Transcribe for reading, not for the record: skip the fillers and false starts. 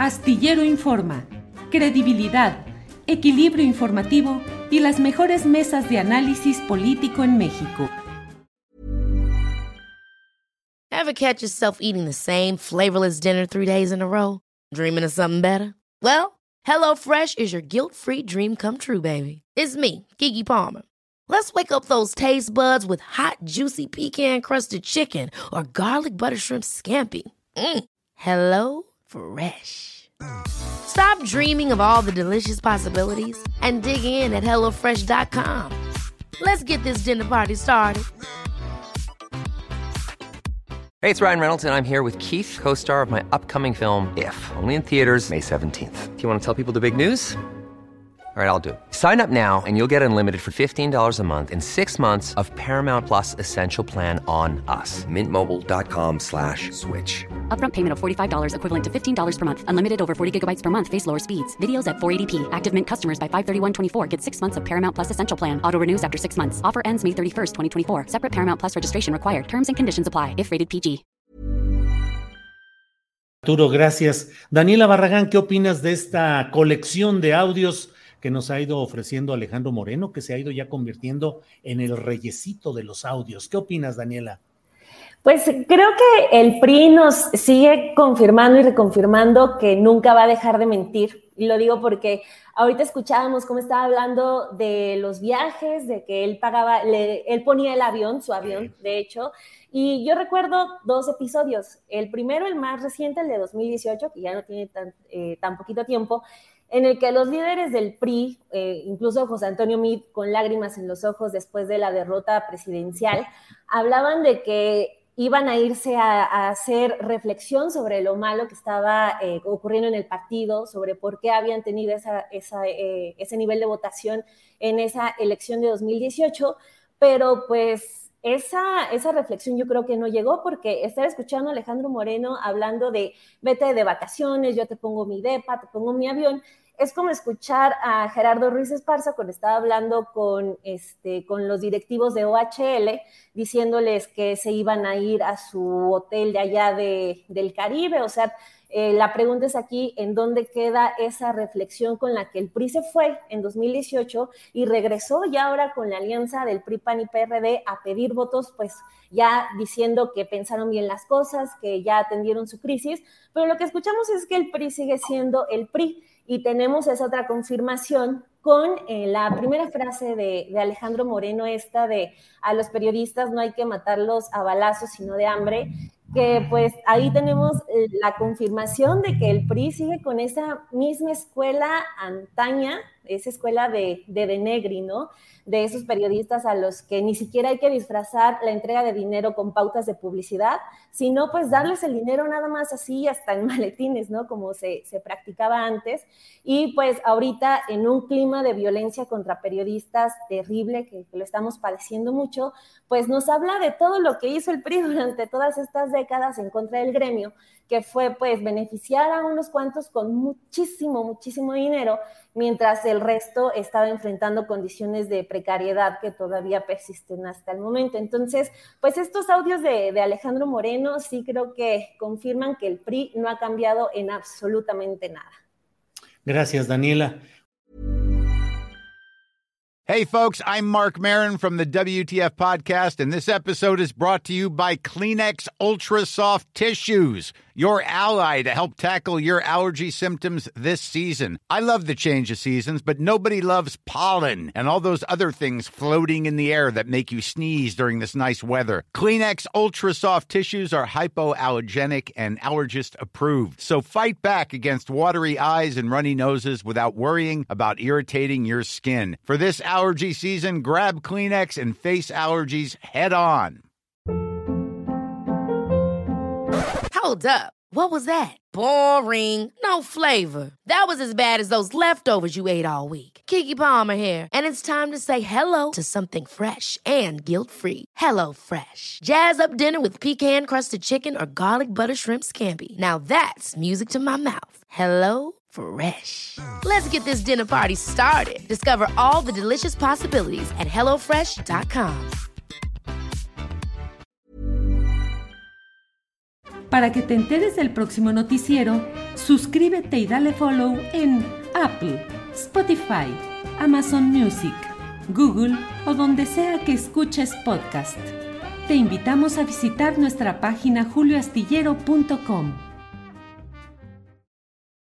Astillero Informa, credibilidad, equilibrio informativo y las mejores mesas de análisis político en México. Ever catch yourself eating the same flavorless dinner 3 days in a row? Dreaming of something better? Well, HelloFresh is your guilt-free dream come true, baby. It's me, Keke Palmer. Let's wake up those taste buds with hot, juicy pecan-crusted chicken or garlic butter shrimp scampi. HelloFresh. Stop dreaming of all the delicious possibilities and dig in at HelloFresh.com. Let's get this dinner party started. Hey, it's Ryan Reynolds, and I'm here with Keith, co-star of my upcoming film, If, only in theaters May 17th. Do you want to tell people the big news? All right, I'll do it. Sign up now and you'll get unlimited for $15 a month and 6 months of Paramount Plus Essential Plan on us. MintMobile.com/switch. Upfront payment of $45 equivalent to $15 per month. Unlimited over 40 gigabytes per month. Face lower speeds. Videos at 480p. Active Mint customers by 531.24 get 6 months of Paramount Plus Essential Plan. Auto renews after 6 months. Offer ends May 31st, 2024. Separate Paramount Plus registration required. Terms and conditions apply if rated PG. Arturo, gracias. Daniela Barragán, ¿qué opinas de esta colección de audios que nos ha ido ofreciendo Alejandro Moreno, que se ha ido ya convirtiendo en el reyesito de los audios? ¿Qué opinas, Daniela? Pues creo que el PRI nos sigue confirmando y reconfirmando que nunca va a dejar de mentir. Y lo digo porque ahorita escuchábamos cómo estaba hablando de los viajes, de que él pagaba, él ponía el avión, su avión, de hecho. Y yo recuerdo 2 episodios. El primero, el más reciente, el de 2018, que ya no tiene tan poquito tiempo, en el que los líderes del PRI, incluso José Antonio Meade, con lágrimas en los ojos después de la derrota presidencial, hablaban de que iban a irse a hacer reflexión sobre lo malo que estaba ocurriendo en el partido, sobre por qué habían tenido ese nivel de votación en esa elección de 2018, pero pues esa reflexión yo creo que no llegó, porque estar escuchando a Alejandro Moreno hablando de vete de vacaciones, yo te pongo mi depa, te pongo mi avión, es como escuchar a Gerardo Ruiz Esparza cuando estaba hablando con los directivos de OHL, diciéndoles que se iban a ir a su hotel de allá del Caribe. O sea, la pregunta es aquí, ¿en dónde queda esa reflexión con la que el PRI se fue en 2018 y regresó ya ahora con la alianza del PRI, PAN y PRD a pedir votos, pues ya diciendo que pensaron bien las cosas, que ya atendieron su crisis? Pero lo que escuchamos es que el PRI sigue siendo el PRI. Y tenemos esa otra confirmación con la primera frase de Alejandro Moreno, esta de a los periodistas no hay que matarlos a balazos, sino de hambre, que pues ahí tenemos la confirmación de que el PRI sigue con esa misma escuela antaña, esa escuela de Negri, ¿no? De esos periodistas a los que ni siquiera hay que disfrazar la entrega de dinero con pautas de publicidad, sino pues darles el dinero nada más así, hasta en maletines, ¿no? Como se practicaba antes. Y pues ahorita en un clima de violencia contra periodistas terrible, que lo estamos padeciendo mucho, pues nos habla de todo lo que hizo el PRI durante todas estas décadas en contra del gremio, que fue pues beneficiar a unos cuantos con muchísimo dinero, mientras el resto estaba enfrentando condiciones de precariedad que todavía persisten hasta el momento. Entonces, pues estos audios de Alejandro Moreno sí creo que confirman que el PRI no ha cambiado en absolutamente nada. Gracias, Daniela. Hey, folks, I'm Mark Maron from the WTF Podcast, and this episode is brought to you by Kleenex Ultra Soft Tissues, your ally to help tackle your allergy symptoms this season. I love the change of seasons, but nobody loves pollen and all those other things floating in the air that make you sneeze during this nice weather. Kleenex Ultra Soft Tissues are hypoallergenic and allergist approved, so fight back against watery eyes and runny noses without worrying about irritating your skin. For this allergy season, grab Kleenex and face allergies head on. Hold up. What was that? Boring. No flavor. That was as bad as those leftovers you ate all week. Keke Palmer here, and it's time to say hello to something fresh and guilt-free. Hello Fresh. Jazz up dinner with pecan-crusted chicken or garlic butter shrimp scampi. Now that's music to my mouth. Hello Fresh. Let's get this dinner party started. Discover all the delicious possibilities at HelloFresh.com. Para que te enteres del próximo noticiero, suscríbete y dale follow en Apple, Spotify, Amazon Music, Google o donde sea que escuches podcast. Te invitamos a visitar nuestra página julioastillero.com.